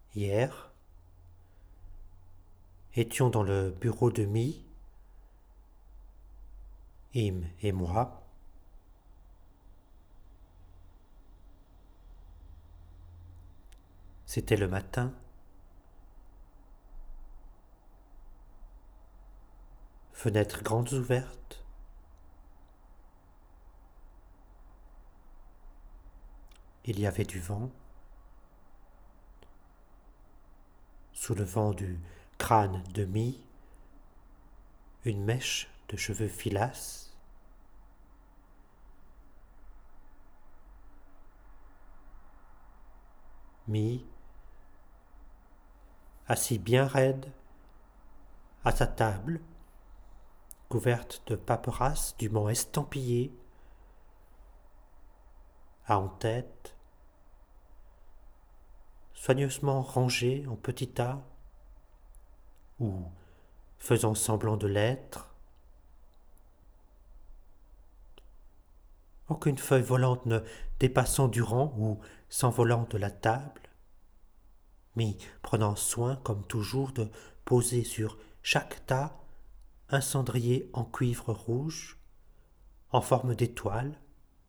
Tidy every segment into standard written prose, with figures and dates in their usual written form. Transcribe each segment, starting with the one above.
Hier, étions dans le bureau de Mi, Im et moi. C'était le matin. Fenêtres grandes ouvertes. Il y avait du vent. Sous le vent du crâne de Mi, une mèche de cheveux filasse. Mi, assis bien raide, à sa table, couverte de paperasses du Mans estampillé, a en tête, soigneusement rangée en petits tas, ou faisant semblant de l'être. Aucune feuille volante ne dépassant du rang ou s'envolant de la table, mais prenant soin, comme toujours, de poser sur chaque tas un cendrier en cuivre rouge, en forme d'étoile,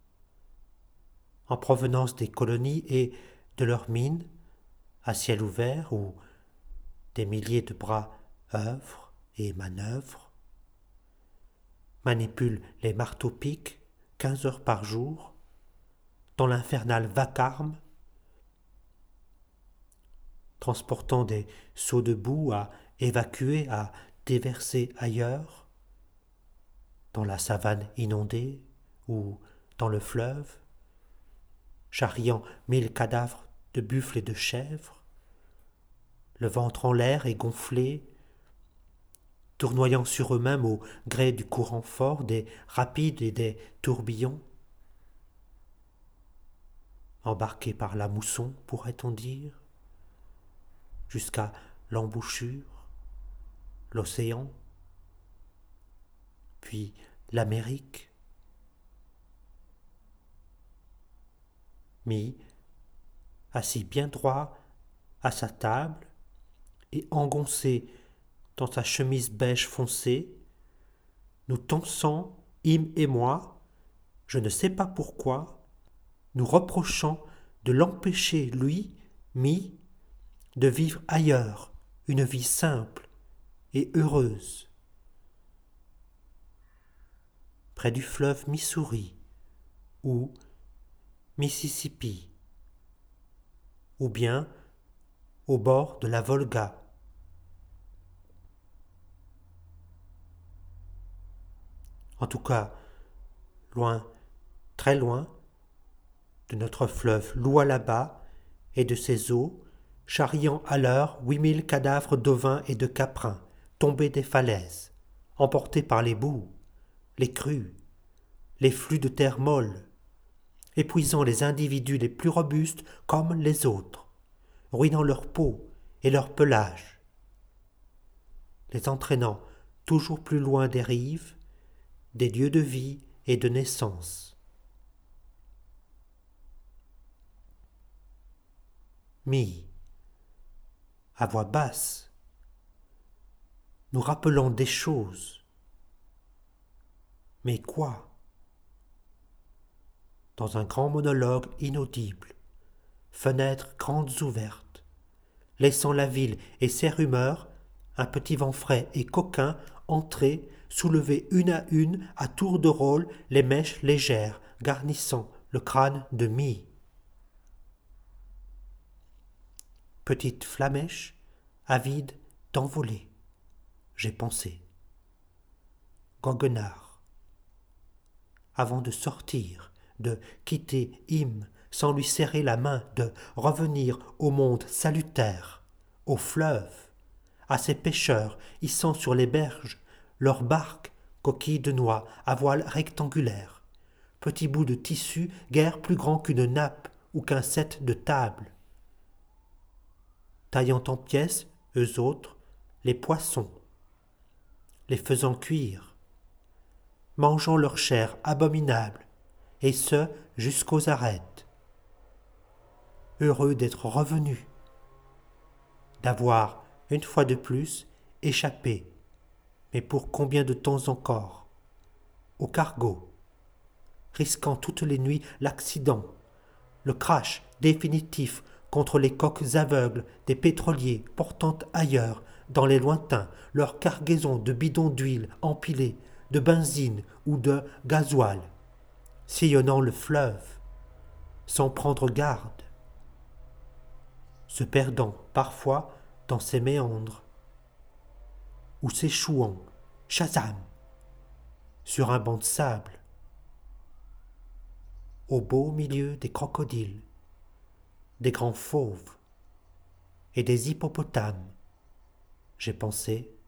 en provenance des colonies et de leurs mines, à ciel ouvert, où des milliers de bras œuvrent et manœuvrent, manipulent les marteaux-piques 15 heures par jour, dans l'infernal vacarme, transportant des seaux de boue à évacuer, à déverser ailleurs, dans la savane inondée ou dans le fleuve, charriant 1000 cadavres de buffles et de chèvres, le ventre en l'air et gonflé, tournoyant sur eux-mêmes au gré du courant fort, des rapides et des tourbillons, embarqués par la mousson, pourrait-on dire, jusqu'à l'embouchure, l'océan, puis l'Amérique. Mi, assis bien droit à sa table et engoncé dans sa chemise beige foncé, nous tonsant, Im et moi, je ne sais pas pourquoi, nous reprochant de l'empêcher, lui, Mi, de vivre ailleurs une vie simple et heureuse, près du fleuve Missouri ou Mississippi, ou bien au bord de la Volga. En tout cas, loin, très loin, de notre fleuve Lualaba et de ses eaux, charriant à l'heure 8000 cadavres d'ovins et de caprins tombés des falaises, emportés par les boues, les crues, les flux de terre molle, épuisant les individus les plus robustes comme les autres, ruinant leur peau et leur pelage, les entraînant toujours plus loin des rives, des lieux de vie et de naissance. Mi, à voix basse, nous rappelons des choses. Mais quoi? Dans un grand monologue inaudible, fenêtres grandes ouvertes, laissant la ville et ses rumeurs, un petit vent frais et coquin entrer, soulever une à tour de rôle les mèches légères garnissant le crâne de Mi. Petite flamèche, avide d'envoler, j'ai pensé. Goguenard. Avant de sortir, de quitter Im sans lui serrer la main, de revenir au monde salutaire, au fleuve, à ces pêcheurs hissant sur les berges leurs barques, coquilles de noix à voile rectangulaire, petits bouts de tissu guère plus grands qu'une nappe ou qu'un set de table, taillant en pièces, eux autres, les poissons, les faisant cuire, mangeant leur chair abominable, et ce jusqu'aux arêtes, heureux d'être revenus, d'avoir, une fois de plus, échappé, mais pour combien de temps encore, au cargo, risquant toutes les nuits l'accident, le crash définitif contre les coques aveugles des pétroliers portant ailleurs, dans les lointains, leur cargaison de bidons d'huile empilés, de benzine ou de gasoil, sillonnant le fleuve, sans prendre garde, se perdant parfois dans ses méandres, ou s'échouant, Shazam, sur un banc de sable, au beau milieu des crocodiles, des grands fauves et des hippopotames, j'ai pensé,